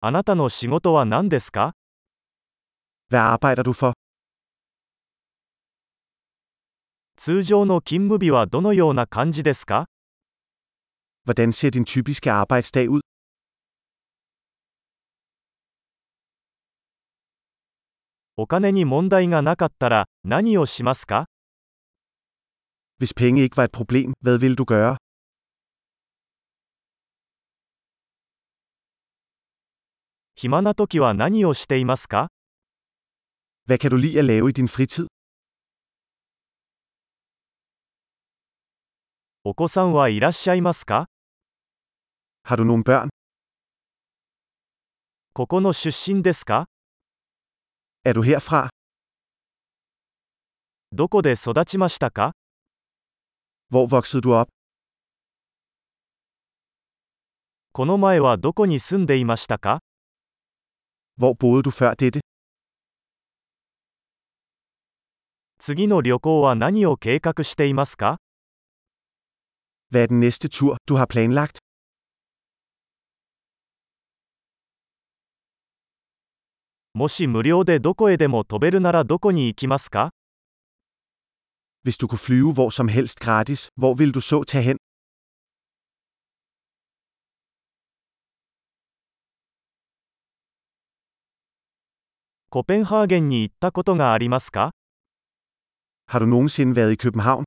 あなたの仕事は何ですか？ Hvad arbejder du for? 通常の勤務日はどのような感じですか？ Hvordan ser din typiske arbejdsdag ud? お金に問題がなかったら何をしますか？ Hvis penge ikke var et problem, hvad ville du gøre? 暇な時は何をしていますか？ Hvad kan du lide at lave i din fritid? お子さんはいらっしゃいますか？ Har du nogle børn? ここの出身ですか？ Er du herfra? どこで育ちましたか？ Hvor voksede du op? この前はどこに住んでいましたか？ Hvor boede du før dette? 次の旅行は何を計画していますか？ Hvad er den næste tur, du har planlagt? もし無料でどこへでも飛べるならどこに行きますか？ Hvis du kunne flyve hvor som helst gratis, hvor ville du så tage hen? コペンハーゲンに行ったことがありますか？ Har du nogensinde været i København?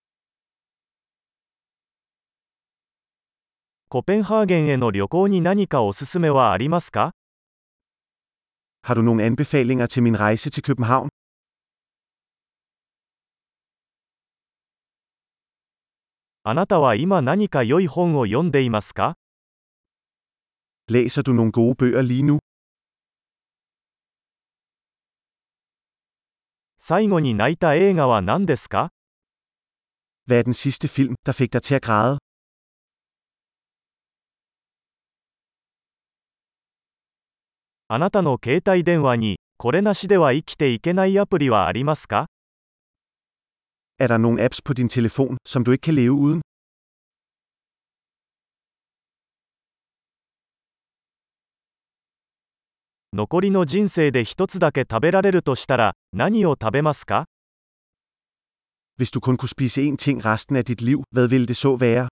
コペンハーゲンへの旅行に何かおすすめはありますか？ Har du nogle anbefalinger til min rejse til København? あなたは今何か良い本を読んでいますか？ Læser du nogle gode bøger lige nu? 最後に泣いた映画は何ですか？ Hvad er den sidste film, der fik dig til at græde? あなたの携帯電話にこれなしでは生きていけないアプリはありますか？ Er der nogle apps på din telefon, som du ikke kan leve uden? 残りの人生で一つだけ食べられるとしたら何を食べますか？ Hvis du kun kunne spise én ting resten af dit liv, hvad ville det så være?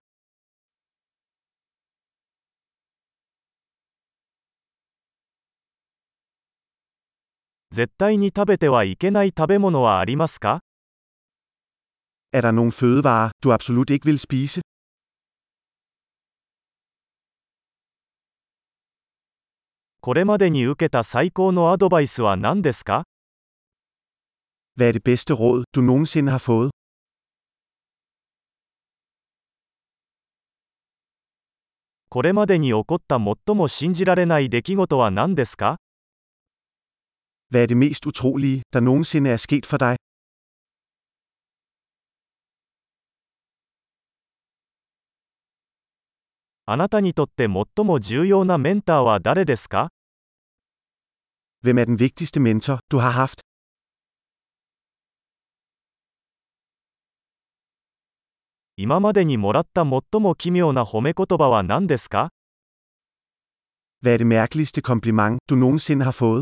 絶対に食べてはいけない食べ物はありますか？ Er der nogle fødevarer, du absolut ikke vil spise? これまでに受けた最高のアドバイスは何ですか？ Hvad er det bedste råd, du nogensinde har fået? これまでに起こった最も信じられない出来事は何ですか？ Hvad er det mest utrolige, der nogensinde er sket for dig? あなたにとって最も重要なメンターは誰ですか？ Hvem er den vigtigste mentor, du har haft? 今までにもらった最も奇妙な褒め言葉は何ですか？ Hvad er det mærkeligste kompliment, du nogensinde har fået?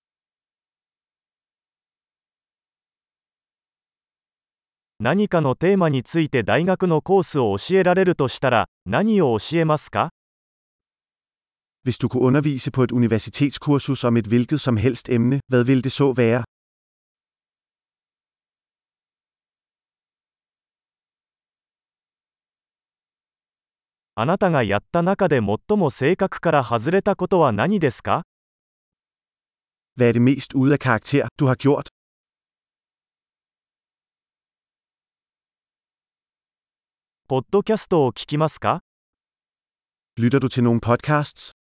何かのテーマについて大学のコースを教えられるとしたら何を教えますか？ Hvis du kunne undervise på et universitetskursus om et hvilket som helst emne, hvad ville det så være? あなたがやった中で最も性格から外れたことは何ですか？ Hvad er det mest ude af karakter, du har gjort? ポッドキャストを聞きますか？ Lytter du til nogle podcasts?